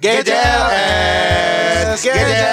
GJLS.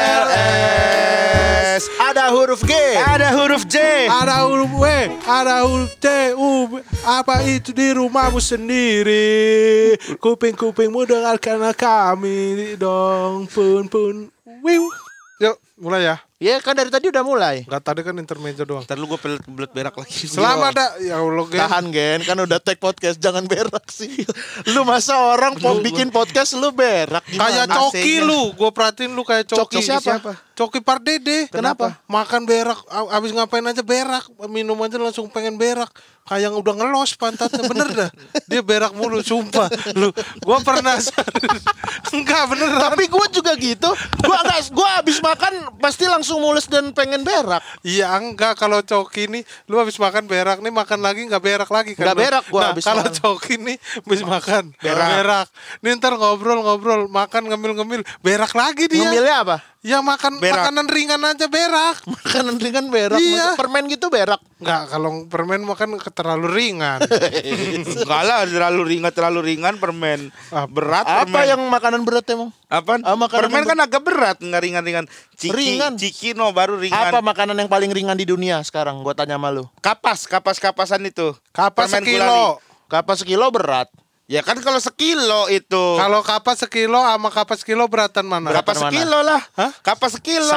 Ada huruf G, Ada huruf J, Ada huruf W, ada huruf T, U. Apa itu di rumahmu sendiri? Kuping-kupingmu dengarkan kami dong, pun. Wiu. Yuk, mulai ya. Ya kan dari tadi udah mulai. Enggak, tadi kan intermezzo doang. Ntar lu gue belet berak lagi. Selamat ya Allah, Gen. Tahan Gen, kan udah take podcast, jangan berak sih. Lu masa orang mau bikin podcast lu berak Kayak gimana? Coki lu, gue perhatiin lu kayak Coki. Coki siapa? Coki Pardede. Kenapa? Makan berak, abis ngapain aja berak, minum aja langsung pengen berak. Kayak udah ngelos pantatnya, bener dah. Dia berak mulu, sumpah. Lu, gue pernah. Enggak bener. Tapi gue juga gitu. Gue abis makan pasti langsung mulus dan pengen berak. Iya enggak, kalau Coki nih, lu habis makan berak nih, makan lagi nggak berak lagi kan? Nggak berak gua habis kalau makan. Coki nih habis makan berak. Nih ntar ngobrol, makan ngemil, berak lagi dia. Ngemilnya apa? Ya makan Berak. makanan ringan aja berak. Makanan ringan berak. Iya. Masa permen gitu berak. Enggak, kalau permen makan terlalu ringan. Enggak lah, terlalu ringan permen. Berat Apa permen. yang makanan berat emang? Apaan? makanan Permen yang kan agak berat, enggak ringan-ringan. Ringan. Ciki no baru ringan. Apa makanan yang paling ringan di dunia sekarang? Gua tanya sama lu. Kapasan itu. Kapas Permen sekilo. gulali. Kapas sekilo berat. Ya kan kalau sekilo itu. Kalau kapas sekilo sama kapas sekilo beratan mana? Berat. Kapas mana? sekilo lah. Hah? Kapas sekilo.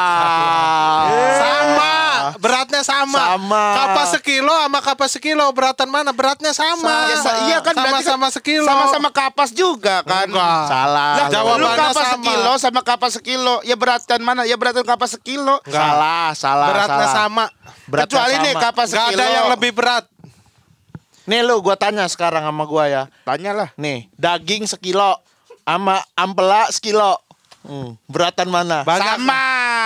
Salah. Sama, beratnya sama. Sama. Kapas sekilo sama kapas sekilo beratan mana? Beratnya sama. Iya kan berarti kan sama-sama sekilo. Sama-sama kapas juga kan. Enggak. Salah. Lah, Jawabannya lu kapas sama. sekilo sama kapas sekilo. Ya beratan mana? Ya beratan kapas sekilo. Enggak. Salah. Beratnya salah. sama. Beratnya Kecuali sama. nih kapas Gak sekilo. ada yang lebih berat. Nih lu gua tanya sekarang sama gua ya. Tanyalah. Nih, daging sekilo sama ampela sekilo. Beratan mana? Sama.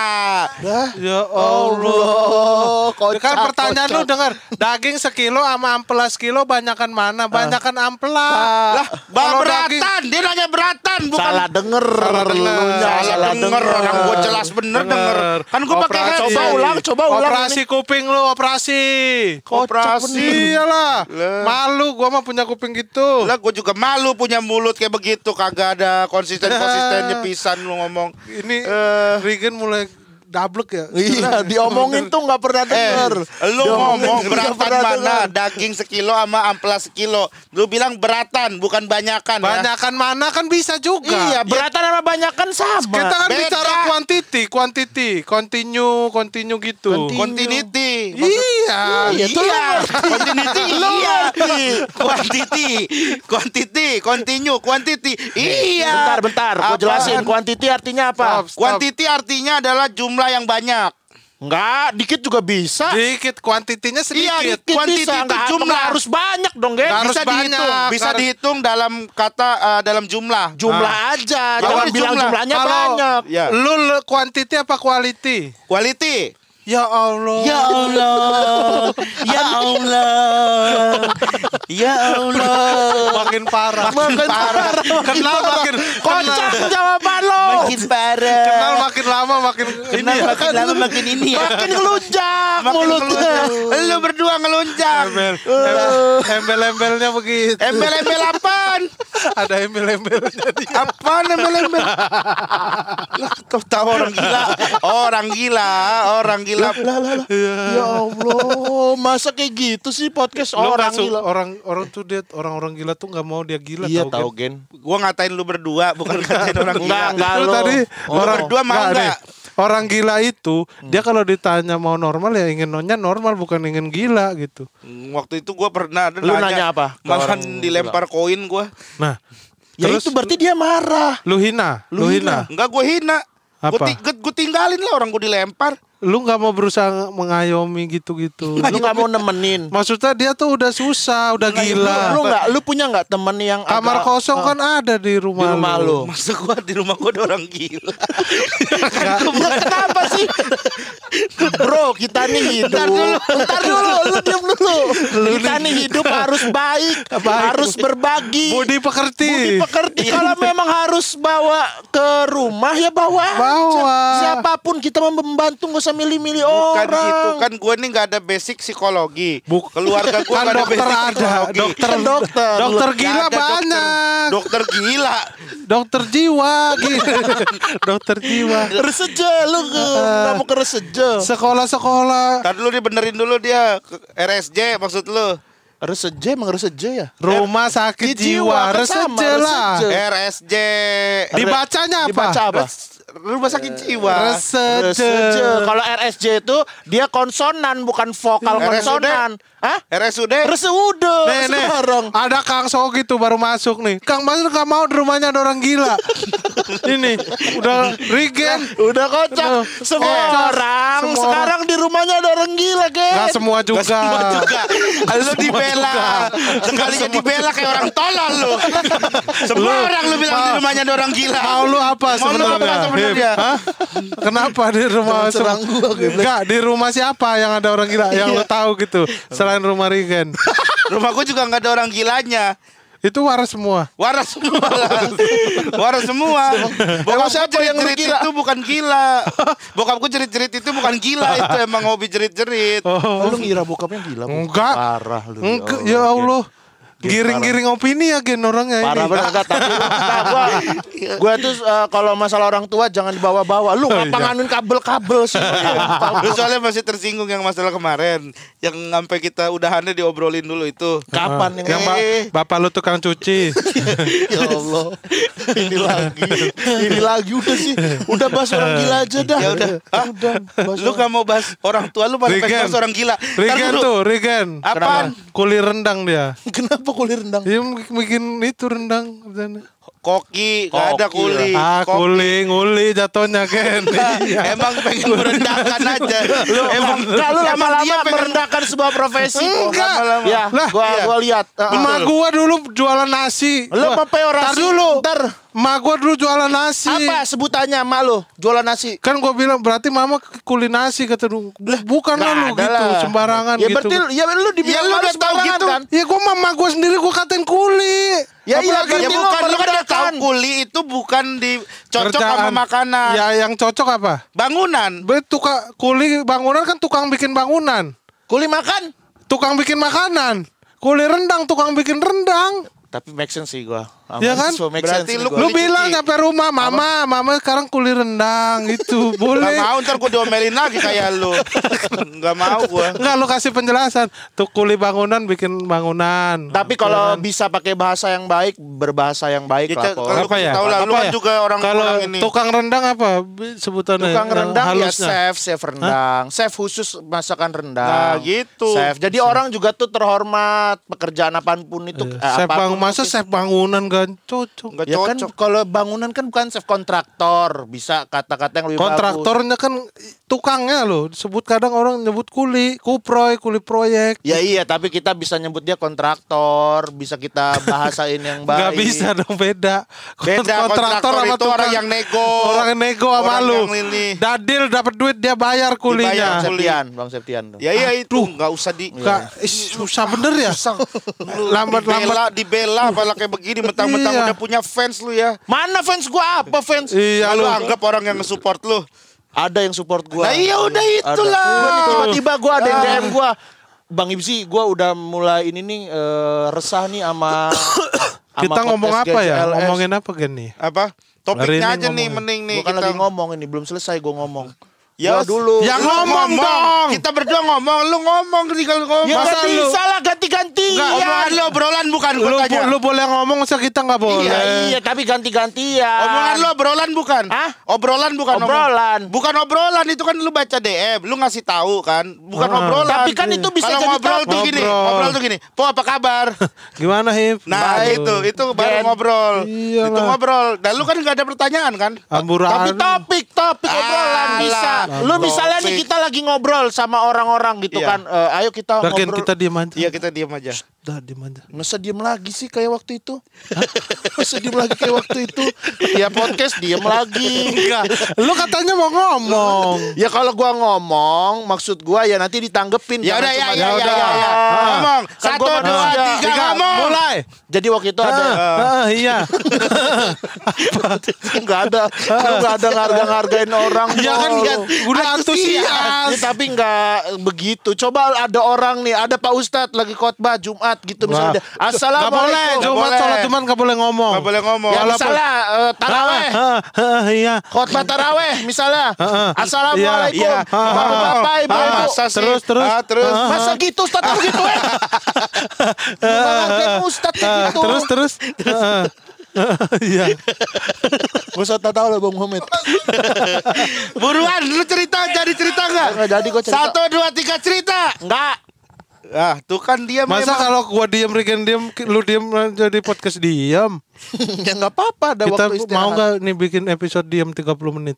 Ya Allah. Kocak, Kan pertanyaan lu kocak. dengar, daging sekilo sama ampela sekilo banyakan mana? Banyakan ampela. Lah, Kalau beratan. Dia nanya beratan bukan. Salah denger. Salah denger. Lunya, Salah denger. Orang gua jelas bener denger. Kan gua pakai Operasi. headset. Coba ulang Operasi kuping lu, operasi. Operasi. Iyalah. Lah. Malu gua mah punya kuping gitu. Lah gua juga malu punya mulut kayak begitu. Kagak ada konsistennya pisan lu ngomong. Ini Regen mulai dablek ya. Iya, diomongin tuh nggak pernah denger. Lu ngomong Nggak beratan pernah mana? denger. Daging sekilo sama ampela sekilo. Lu bilang beratan bukan banyakan ya. Banyakan mana kan bisa juga. Iya, beratan sama banyakan sama. Kita kan Beda. bicara quantity, continue gitu. Continuity. Iya, Iya, tuh Iya, lu continuity. Iya. Quantity, continue, quantity. Iya. Bentar, gua jelasin. Quantity artinya apa? Stop. Quantity artinya adalah jumlah yang banyak. Enggak, dikit juga bisa. Dikit, kuantitinya sedikit. Iya, quantity bisa. itu Nggak jumlah. harus banyak dong, Gen. Nggak harus Bisa dihitung, banyak. bisa Harus- dihitung dalam kata dalam jumlah. Jumlah aja, jangan ini bilang jumlah. jumlahnya Kalau banyak. Ya. Lu quantity apa quality? Quality. Ya Allah. Ya Allah, ya Allah, ya Allah. Makin parah. Makin parah. Kenal makin Kocak jawaban lo. Makin parah. Kenal makin lama makin ini ya. Makin lama makin ini ya. Makin ngelunjak Makin mulutnya. ngelunjak. Lu berdua ngelunjak. Embel-embelnya begitu. Embel-embel apaan? Ada embel-embelnya dia. Apaan embel-embel? Lah, tahu orang gila. Orang gila. Lah. Ya Allah, masa kayak gitu sih podcast Lu orang nggak su- gila. orang gila tuh nggak mau dia gila. Iya tau, tahu Gen. Gen. Gua ngatain lu berdua, bukan ngatain orang gila. Enggak Lu lo. tadi orang berdua mau nggak, nggak? nih. Orang gila itu dia kalau ditanya mau normal ya ingin nonnya normal bukan ingin gila gitu. Waktu itu gua pernah ada Lu nanya apa ke orang Makan dilempar koin gua. Nah, Ya terus itu berarti dia marah. lu hina. Enggak, gua hina. Apa? Gua tinggalin lah orang gua dilempar. Lu nggak mau berusaha mengayomi gitu-gitu. Lu nggak mau nemenin. Maksudnya dia tuh udah susah, udah gila. Lu punya nggak temen yang Kamar agak- kosong kan ada di rumah, di rumah lu. Masa gua di rumah gua ada orang gila. Ya, kenapa sih? Bro, kita nih hidup. Bentar dulu, lu diam dulu. Kita nih hidup harus baik, harus berbagi. Budi pekerti. Pekerti. Kalau memang harus bawa ke rumah ya bawa. Bawa. Siapapun kita membantu nggak usah usah milih-milih Bukan orang. gitu kan, gue nih nggak ada basic psikologi. Keluarga gue Kan nggak ada dokter basic ada, psikologi. dokter Nggak gila ada banyak. Dokter gila. Dokter jiwa gitu. Dokter jiwa. Reseje lu nggak mau ke reseje. Sekolah-sekolah. Tadi dulu dibenerin dulu dia RSJ maksud lu. Reseje emang reseje ya? Rumah sakit jiwa, kan sama, reseje lah. reseje. RSJ. Dibacanya apa? Dibaca apa? Rumah sakit jiwa. Reseje. Kalau RSJ itu dia konsonan bukan vokal RSUD. konsonan. Hah? RSUD. RSUD Nih, sekarang. ada Kang Sogi tuh baru masuk nih. Kang Mas gak mau di rumahnya ada orang gila. Ini udah Regen. Udah kocak. Semua orang Semua sekarang di rumahnya ada orang gila, Gen. Gak semua juga. Semua juga. Lu dibela. Sekalinya dibela kayak orang tolol lu. Semua orang lu bilang di rumahnya ada orang gila. Mau lu apa Mau lu apa sebenarnya? sebenarnya? Hah? Kenapa di rumah Jangan serang gua, Geblek. Enggak, di rumah siapa yang ada orang gila yang lu tahu gitu selain rumah Regen? Rumahku juga nggak ada orang gilanya. Itu waras semua. Waras semua lah. Waras semua. Bokapku siapa yang jerit-jerit gila? itu bukan gila. Bokapku jerit-jerit itu bukan gila. Itu emang hobi jerit-jerit. Lu ngira bokapnya gila? Bu? Enggak. Parah lu. Enggak, ya Allah. Giring-giring opini ya Gen orangnya Parah ini. banget tapi gua tuh kalau masalah orang tua jangan dibawa-bawa. Lu ngapa nganuin kabel-kabel sih? Lu soalnya masih tersinggung yang masalah kemarin. Yang sampai kita udahannya diobrolin dulu itu. Kapan Yang bapak lu tukang cuci. Ya Allah. Ini lagi udah sih. Udah bahas orang gila aja dah. Ya udah. Hah? Lu gak mau bahas orang tua lu malah pengen Regen. bahas orang gila. Regen tuh, Regen. Apaan? Kuli rendang dia. Kenapa kulit rendang? Dia bikin itu rendang. Koki, gak ada kuli. Kuli, nguli jatuhnya Gen. Iya. Emang pengen merendahkan aja. Kalau lama-lama merendahkan sebuah profesi. Enggak. Lama-lama. Ya, Lah, gua lihat. Emak gua dulu jualan nasi. Lu apa peorasi? Tar dulu. Ntar. Emak gua dulu jualan nasi. Apa sebutannya emak lu? Jualan nasi. Kan gua bilang berarti mama kuli nasi kata lu. Bukan lah lu ada gitu, lah. sembarangan Ya gitu. berarti ya lu dibilang lu malu udah tahu sembarangan gitu. kan? Ya gua mama gua sendiri gua katain kuli. Ya iya Ya berarti bukan, lu kan udah tahu merendahkan. kuli itu bukan dicocok sama Kerjaan. makanan. Ya yang cocok apa? Bangunan. Kuli bangunan kan tukang bikin bangunan. Kuli makan. Tukang bikin makanan. Kuli rendang tukang bikin rendang. Tapi make sense sih gua. Ya kan? Berarti lu Lu Kuli bilang cuci. sampai rumah, mama sekarang kuli rendang itu Gak boleh. mau ntar gue diomelin lagi kayak lu. Gak mau gue. Enggak, lu kasih penjelasan. Tuh kuli bangunan bikin bangunan. Tapi kalau bisa pakai bahasa yang baik, berbahasa yang baik lah. Ko. Kalau Apa ya? tahu lah, lu Apa kan ya? juga orang Kalau ini. tukang rendang apa sebutannya? Tukang yang rendang ya halusnya? chef rendang. Chef khusus masakan Nah, rendang. gitu. Chef. Jadi orang juga tuh terhormat pekerjaan apapun itu. Chef apapun masa itu. chef bangunan kan cocok. Gak Ya kan cocok. kalau bangunan kan bukan chef kontraktor, bisa kata-kata yang lebih bagus. Kontraktornya kan tukangnya loh. Disebut kadang orang nyebut kuli proyek. Ya iya, tapi kita bisa nyebut dia kontraktor, bisa kita bahasain yang baik. Nggak bisa dong, beda. Beda, kontraktor sama itu tukang. orang yang nego. Orang yang nego sama Orang lu. yang ini. Dadil dapat duit dia bayar Dibayar kulinya. kuli. Bang Septian tuh. Ya iya itu nggak usah di Susah bener ya. Lambat-lambat. dibela apalagi kayak begini mentang-mentang Iya. udah punya fans lu ya. Mana fans gua apa fans? Iya Lalu lu. anggap orang yang nge-support lu. Ada yang support gua. Nah iya udah itulah. Gua nih tiba-tiba gua ada yang DM gua. Bang Ibsi, gua udah mulai ini nih resah nih sama Kita ngomong podcast apa ya? GCLS. Ngomongin apa Gen nih? Apa? Hari Topiknya ini aja nih ngomongin. mending nih Gua kan kita lagi ngomong ini, belum selesai gua ngomong. Ya Gua dulu. Ya ngomong dong. Kita berdua ngomong, lu ngomong tinggal ngomong. Ya Masa nggak lu- bisa lah ganti-gantian. Omongan lu obrolan bukan gua tanya. Lu boleh ngomong, masa kita nggak boleh? Iya, tapi ganti-gantian. Omongan lu obrolan bukan? Hah? Obrolan bukan Obrolan. Bukan obrolan, itu kan lu baca DM, lu ngasih tahu kan, bukan obrolan. Tapi kan itu bisa Kalau jadi ngobrol tuh topik. gini, Ngobrol. ngobrol tuh gini. Po apa kabar? Gimana Hip? Nah, Aduh. itu baru Gen. ngobrol. Iyalah. Itu ngobrol. Dan lu kan enggak ada pertanyaan kan? Amburan. Tapi topik obrolan Alah, bisa. Lu misalnya nih topik. kita lagi ngobrol sama orang-orang gitu Iya. kan. Ayo kita Bagian ngobrol. kita diam aja. Iya, kita diam aja. Dah diam aja. Masa diem lagi sih kayak waktu itu? Masa diem lagi kayak waktu itu? Ya podcast diem lagi. Enggak. Lu katanya mau ngomong. Ya kalau gua ngomong, maksud gua ya nanti ditanggepin. Ya jangan udah, ya, cuma ya, ya ya, udah. ya, ya. Ngomong. Kan Satu, gua dua, manusia. tiga, ngomong. Mulai. Jadi waktu itu ada Iya. nggak ada, lu nggak ada ngargain orang. Iya kan, Bro. Udah antusias. Ya, tapi nggak begitu. Coba ada orang nih, ada Pak Ustadz lagi khotbah Jumat gitu misalnya. Nggak boleh. Assalamualaikum. Jumat sholat Jumat nggak boleh ngomong. Nggak boleh ngomong. Ya misalnya taraweh. Iya. Khotbah taraweh misalnya. Assalamualaikum. Iya. Bapak Ibu. Masa sih? Terus. Terus. Masa gitu Ustadz harus gitu ya? Bukan Ustadz kayak gitu. Terus. Iya. Gak usah tahu lah Bang Muhammad. Buruan, lu jadi cerita nggak? Nggak jadi gue cerita. 1, 2, 3 cerita. Enggak. Ah, tuh kan dia Masa memang. kalau gua diam, Rigen diam, lu diam jadi podcast diam. Ya nggak apa-apa. Ada Kita waktu istirahat. mau nggak nih bikin episode diam 30 menit?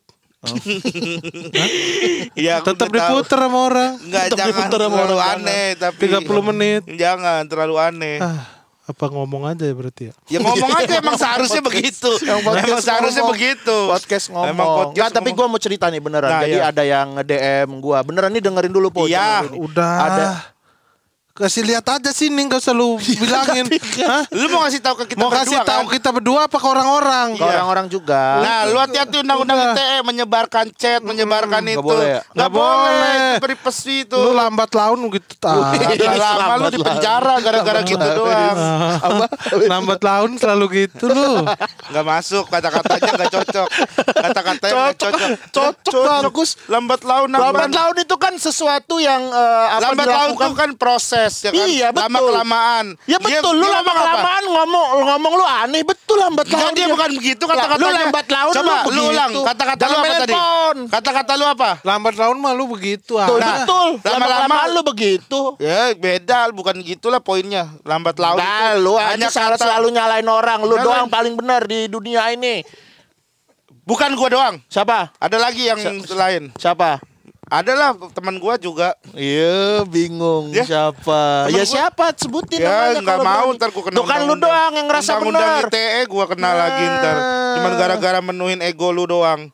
Iya, aku Tetap udah tahu. diputer sama orang. Enggak, Tetap jangan diputer sama terlalu orang, aneh tapi 30 menit. Jangan terlalu aneh. Apa ngomong aja ya berarti ya? Ya ngomong aja emang seharusnya begitu. Emang seharusnya ngomong. begitu. Podcast ngomong. Emang podcast Nggak, tapi ngomong. gue mau cerita nih beneran. Nah, Jadi iya. ada yang nge-DM gue. Beneran nih dengerin dulu Po. Iya. Dengerin. Udah. Ada. Kasih lihat aja sini, nggak usah lu bilangin. Hah? Lu mau ngasih tahu ke kita Mau kasih berdua, tahu kan? kita berdua apa ke orang-orang? Ke orang-orang juga. Nah, lu hati-hati undang-undang Udah. ITE menyebarkan chat, menyebarkan nggak itu. boleh ya? Nggak boleh. Privasi itu. Lu lambat laun gitu. Udah lama lu di penjara gara-gara gitu doang. Apa? Lambat laun selalu gitu lu. Nggak masuk, kata-katanya nggak cocok. Kata-katanya nggak cocok. Cocok bagus. Lambat laun Lambat laun itu kan sesuatu yang Lambat laun itu kan proses ya kan. Iya, betul. Lama kelamaan. Ya betul, lu Dia lama ngomong apa? kelamaan ngomong lu aneh, betul lambat Enggak, laun. dia bukan begitu kata-katanya. Lu lambat laun Coba lu begitu. ulang kata-kata lu Jangan apa main tadi? handphone. Kata-kata lu apa? Lambat laun mah lu begitu. Betul, Nah, betul. lama-lama Lama-lama lu begitu. Ya beda, bukan gitulah poinnya. Lambat laun Nah, itu lu hanya aja salah kata. selalu nyalain orang. Lu Nyalain. doang paling benar di dunia ini. Bukan gua doang. Siapa? Ada lagi yang lain. Siapa? Adalah teman gua juga. Iya, bingung Ya, siapa? temen Ya gua. siapa? Sebutin Ya namanya nggak kalau mau berani. ntar gua kena Tuh kan lu undang-undang. doang yang ngerasa Undang-undang benar. ITE gua kena lagi ntar. Cuman gara-gara menuhin ego lu doang.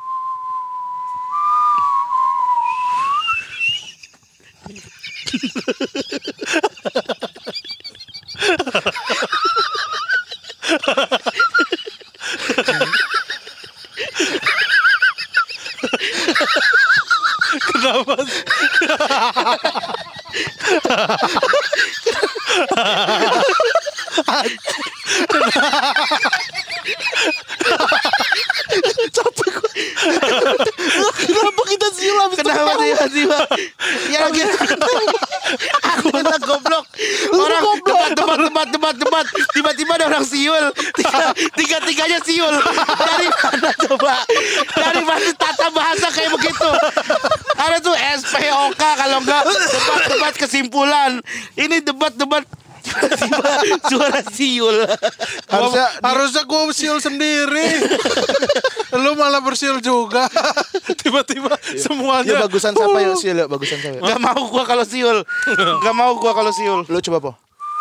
Kenapa kita silam? Kenapa tiba-tiba? Ya gitu. Aku kena goblok. Orang debat. Tiba-tiba ada orang siul. Tiga-tiganya siul. Dari mana coba? Dari mana tata bahasa kayak begitu? Ada tuh SPOK kalau enggak debat kesimpulan. Ini debat. Tiba-tiba suara siul. Harusnya gua siul sendiri. Lu malah bersiul juga. Tiba-tiba semuanya. Ya bagusan siapa ya siul ya? Bagusan siapa? Gak mau gua kalau siul. Lu coba Po.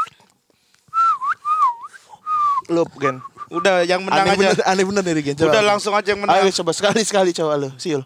Lu Gen. Udah yang menang aja. Aneh bener nih Gen. Coba. Udah langsung aja yang menang. Ayo coba sekali coba lu siul.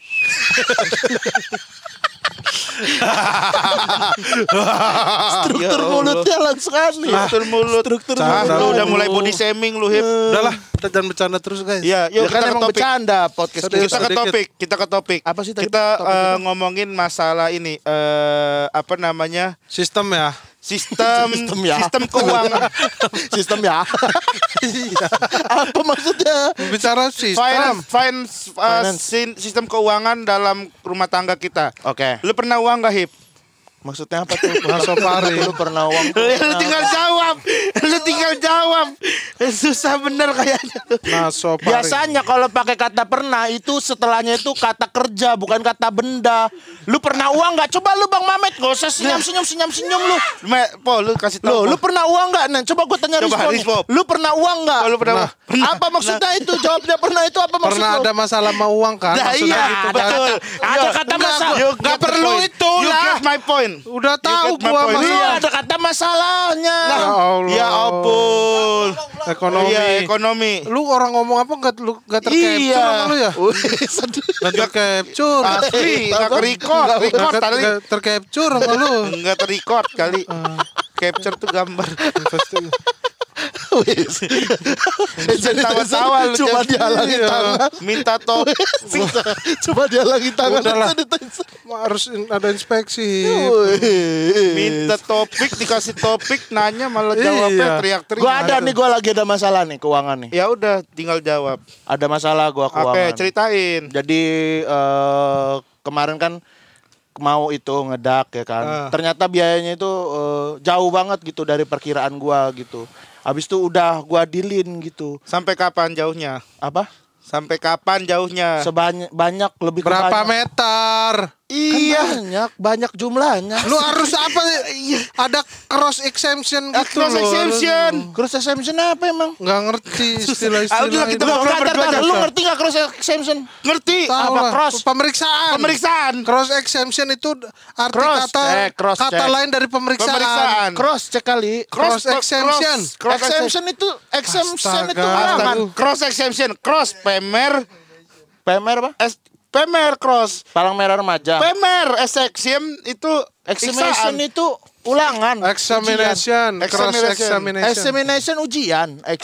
Struktur mulutnya langsung aneh. Struktur mulut. Struktur Canda Lu mulut. udah mulai body shaming lu, Hip. Udahlah, kita jangan bercanda terus guys. Iya, Ya yuk kan kita ke emang topik. bercanda podcast Serius. Kita ke topik. Apa sih tadi Kita topik kita? ngomongin masalah ini apa namanya? Sistem ya. Sistem ya. sistem keuangan. Sistem ya. Apa maksudnya? Bicara sistem. Sistem keuangan dalam rumah tangga kita. Oke. Lu pernah uang gak, Hip? Maksudnya apa tuh? Masopari. Lu pernah uang? Lu tinggal jawab. Susah bener kayaknya. Masopari. Biasanya kalau pakai kata pernah itu setelahnya itu kata kerja bukan kata benda. Lu pernah uang nggak? Coba lu Bang Mamet nggak usah senyum lu. Po, lu kasih tahu. Lu pernah uang nggak? Nah, coba gue tanya Coba, Rizpo. Rizpo. Lu pernah uang nggak? Lu pernah. Apa maksudnya itu? Jawabnya pernah itu apa maksud Pernah lu? ada masalah mau uang kan? Nah, Maksudnya iya, gitu kan? betul. Ada kata masalah. Nggak perlu itu You lah. get my point. Udah tahu get my gua point. Lu masalah. ada kata masalahnya. Ya Allah. Ya ampun. Ekonomi. Iya, ekonomi. Lu orang ngomong apa nggak tercapture sama lu ya? Nggak tercapture. Asli, enggak ke-record. Record kali. Nggak tercapture sama lu. Enggak ter-record kali. Capture tuh gambar. Tawa-tawa lu Cuma dihalangi tangan. minta topik. Cuma dihalangi tangan. Udahlah. itu dites. Harus ada inspeksi. Minta topik, dikasih topik, nanya malah jawabnya Iya. teriak-teriak. Gua ada nih, gua lagi ada masalah nih keuangan nih. Ya udah, tinggal jawab. Ada masalah gua keuangan. Oke, ceritain. Jadi kemarin kan mau itu ngedak ya kan. Ternyata biayanya itu jauh banget gitu dari perkiraan gua gitu. Habis itu udah gua dealin gitu. Sampai kapan jauhnya? Apa? Sampai kapan jauhnya? Banyak lebih ke Berapa banyak. meter? Kan banyak jumlahnya. Lu harus apa? Ada cross exemption gitu Cross loh. exemption. Cross exemption apa emang? Nggak ngerti istilah-istilah Udah, kita itu. ngobrol berdua aja. Lu ngerti gak cross exemption? Ngerti? Tahu apa lah. cross? Pemeriksaan. Pemeriksaan. Cross exemption itu arti Cross kata check. lain dari pemeriksaan. Pemeriksaan. Cross cek kali. Cross exemption. Exemption itu Astaga. ulangan. Cross exemption. Cross pemer. PMR apa? Pemer cross. Palang merah remaja. Pemer exception itu Examination iksaan. itu ulangan. Examination. Cross examination. Examination ujian.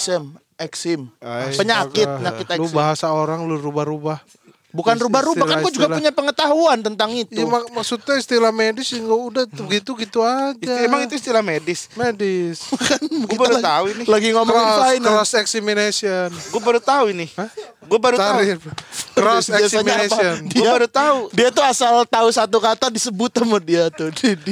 Exim. Penyakit Lu exim. bahasa orang lu rubah-rubah. Bukan rubah-rubah kan gue juga Istilah-istilah. punya pengetahuan tentang itu. Ya, maksudnya istilah medis nggak udah gitu-gitu aja. Emang itu istilah medis. medis. Gue baru tahu ini. Lagi ngomongin finance. Cross examination. Gue baru tahu ini. Gue baru tahu. Tarik. Cross Biasanya apa? examination. Gue baru tahu. Dia tuh asal tahu satu kata disebut sama dia tuh.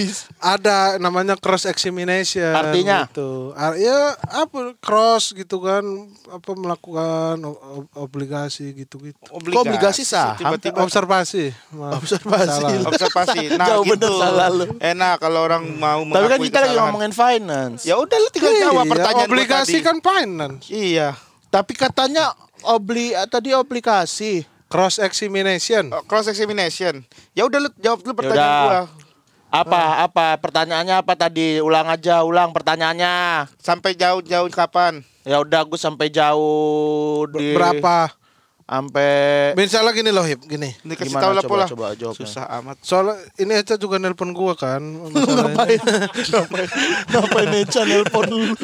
Ada namanya cross examination. Artinya? Gitu. Ya apa cross gitu kan, apa melakukan obligasi gitu-gitu. Obligasi saham. Tiba-tiba Observasi. Observasi. Salah. observasi. Nah, Jauh gitu. bener salah lu. Enak kalau orang mau Tapi kan mengakui kita lagi kesalahan. ngomongin finance. Ya udah lu tinggal jawab Iya, pertanyaan gua obligasi tadi. kan finance. Iya. Tapi katanya tadi obligasi. Cross examination. Cross examination. Ya udah lu jawab dulu Ya pertanyaan udah. gua. Apa pertanyaannya apa tadi? Ulang pertanyaannya. Sampai jauh-jauh kapan? Ya udah gue sampai jauh di Berapa? sampai Misalnya gini loh Hip, gini. Ini kasih Gimana? tahu lah Coba- pola. coba jawabnya. Susah amat. Soalnya ini Eca juga nelpon gua kan. masalahnya. ngapain Eca nelpon lu?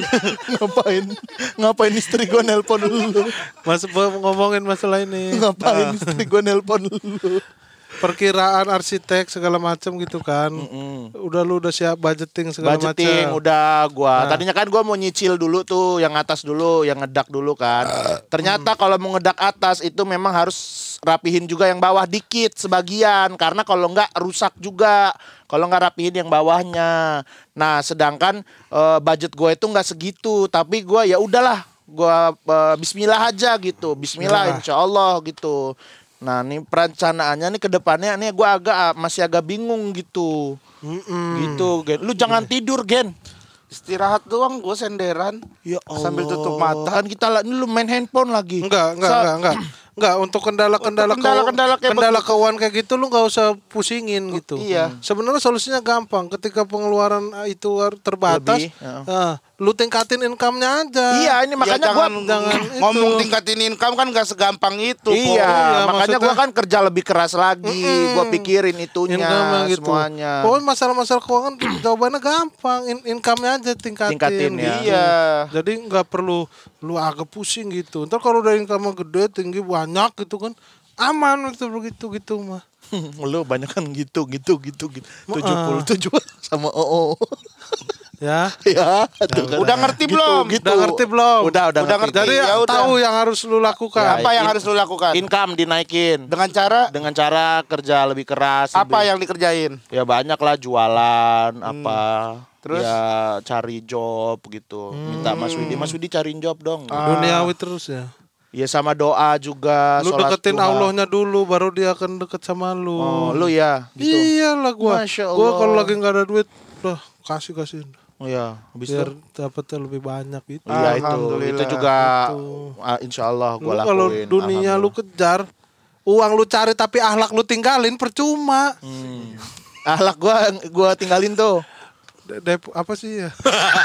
ngapain istri gue nelpon lu? Ngomongin masalah ini. Ngapain istri gue nelpon lu? Perkiraan arsitek segala macam gitu kan. Udah siap budgeting segala Budgeting macam. udah gua. Tadinya kan gua mau nyicil dulu tuh yang atas dulu, yang ngedak dulu kan. Ternyata kalau mau ngedak atas itu memang harus rapihin juga yang bawah dikit sebagian karena kalau enggak rusak juga. Kalau nggak rapihin yang bawahnya. Nah, sedangkan budget gue itu nggak segitu, tapi gua ya udahlah, gua bismillah aja gitu. Bismillah insyaallah gitu. Nah, ini perencanaannya nih ke depannya nih gue masih agak bingung gitu. Gitu, Gen. Lu jangan tidur, Gen. Istirahat doang gue senderan. Ya Allah. Sambil tutup mata. Kan kita ini lu main handphone lagi. Enggak. Enggak, untuk kendala-kendala kendala kayak keuangan kayak gitu lu nggak usah pusingin gitu. Iya. Sebenarnya solusinya gampang. Ketika pengeluaran itu terbatas, Lebih, ya. lu tingkatin income-nya aja. Iya, ini makanya gua jangan ngomong itu. tingkatin income kan gak segampang itu. Iya, Iya, makanya maksudnya- gua kan kerja lebih keras lagi. Gua pikirin itunya Income-nya gitu. semuanya. Pokoknya masalah-masalah keuangan jawabannya gampang. Income-nya aja tingkatin. Tingkatin, ya. gitu. Iya. Jadi nggak perlu lu agak pusing gitu. Ntar kalau udah income gede, tinggi, banyak gitu kan, aman itu begitu gitu mah. Lu banyak kan gitu. 77 sama OO. Ya. Ya, tuh kan. Udah ngerti belum? Udah ngerti belum? Udah Udah ngerti. Jadi Ya udah. tahu yang harus lu lakukan. Apa yang harus lu lakukan? Income dinaikin. Dengan cara kerja lebih keras. apa yang dikerjain? Ya banyak lah jualan apa. Terus? Ya cari job gitu. Minta Mas Widi cariin job dong. Duniawi terus ya. Ya sama doa juga. Lu sholat deketin duha. Allahnya dulu, baru dia akan deket sama lu. Oh, lu ya gitu. Iyalah gua. Masya Gua Allah. kalau lagi nggak ada duit, udah kasih. Oh ya, habis Biar itu. dapetnya lebih banyak gitu. Iya itu Alhamdulillah. juga Itu. insya Allah Lu gue lakuin. kalau dunia lu kejar, uang lu cari tapi akhlak lu tinggalin percuma. Ahlak gua tinggalin tuh. Apa sih ya?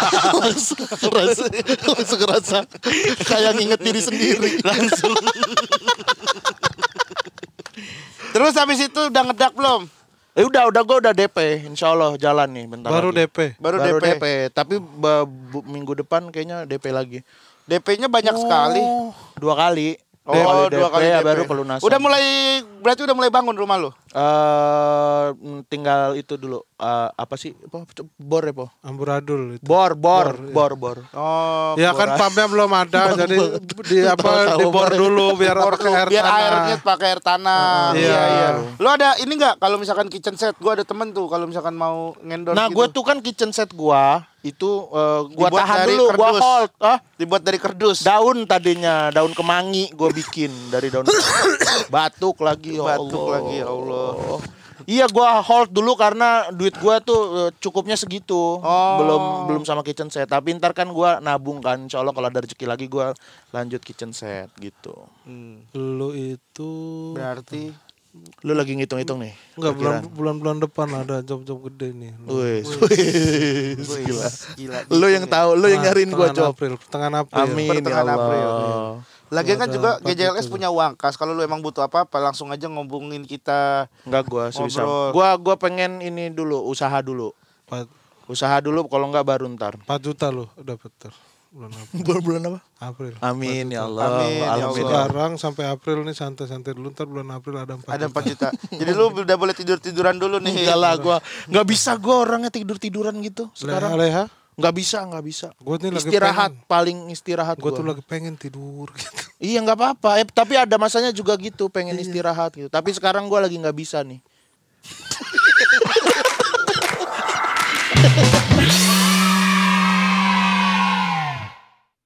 langsung ngerasa kayak nginget diri sendiri. Terus habis itu udah ngedak belum? Udah gue udah DP, insya Allah jalan nih bentar Baru lagi. DP. Baru Baru DP. DP. Tapi minggu depan kayaknya DP lagi. DP-nya banyak sekali. 2 kali. Oh, DP, 2 kali ya DP. baru pelunasan. Berarti udah mulai bangun rumah lu? Tinggal itu dulu. Apa sih? Bor ya, Po? Amburadul itu. Bor. Oh, Ya kan pumpnya belum ada, jadi dibor dulu biar pakai air biar tanah. airnya pakai air tanah. Iya. Lu ada ini enggak kalau misalkan kitchen set? Gua ada temen tuh kalau misalkan mau ngendorse Nah, gitu. gue tuh kan kitchen set gua itu gua Dibuat tahan dari dulu, gua kardus. hold. Dibuat dari kardus. Daun tadinya, daun kemangi gue bikin dari daun batuk lagi, ya Batuk Allah. lagi, ya Allah. Iya, gue hold dulu karena duit gue tuh cukupnya segitu, Oh. belum sama kitchen set. Tapi ntar kan gue nabung kan, insya Allah kalau ada rezeki lagi gue lanjut kitchen set gitu. Lu itu Berarti Lu lagi ngitung-hitung nih? enggak perkiraan? bulan depan ada job-job gede nih. Wih, gila. gila. Lu yang tahu, lu yang nyariin gue Pertengahan job. April, pertengahan April. Amin ya Pertengahan April. Allah. Lagian kan Ada juga 4 GJLS juta. punya uang kas. Kalau lu emang butuh apa-apa langsung aja ngobongin kita. Enggak, gue sebisa. Ngobrol. Gua pengen ini dulu, usaha dulu. 4 Usaha dulu, kalau enggak baru ntar. juta lu dapat bulan April. Bulan apa? April. Amin ya Allah. Amin, ya Alhamdulillah. Sekarang sampai April nih santai-santai dulu, ntar bulan April ada 4 Ada 4 juta. Jadi lu udah boleh tidur-tiduran dulu nih. Enggak lah, gua enggak bisa gua orangnya tidur-tiduran gitu sekarang. Leha, Enggak bisa. gue nih lagi Istirahat, pengen, paling istirahat gue gua. tuh lagi pengen tidur gitu. Iya, enggak apa-apa. Tapi ada masanya juga gitu, pengen istirahat gitu. Tapi sekarang gua lagi enggak bisa nih.